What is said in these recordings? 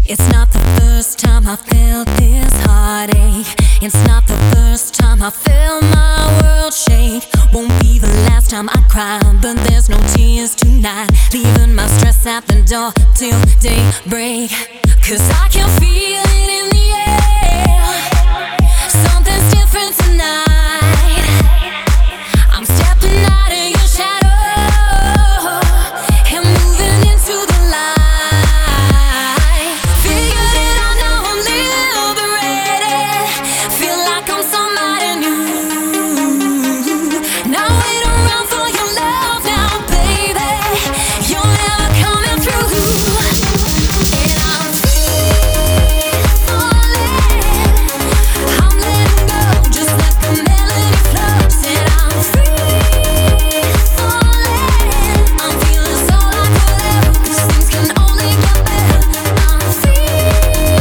It's not the first time I felt this heartache. It's not the first time I felt my world shake. Won't be the last time I cry, but there's no tears tonight. Leaving my stress at the door till daybreak. 'Cause I can feel it in the air. Something's different tonight. I'm stepping out of your shadow and moving into the light. Figured it out, now I'm liberated. Feel like I'm somebody new. Now wait around for your love now, baby. You're never coming through. And I'm free falling. I'm letting go, just let the melody flow. Said I'm free falling. I'm feeling so like whatever, 'cause things can only get better. I'm free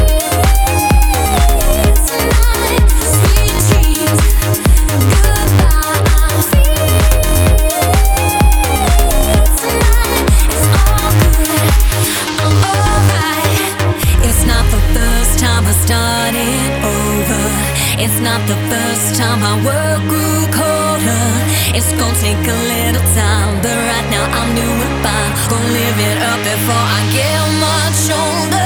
tonight. Sweet dreams, goodbye. I'm free tonight. It's all good, I'm alright. It's not the first time I started over. It's not the first time my world grew colder. It's gonna take a little time, but right now I'm doing fine. Gonna live it up before I get much older.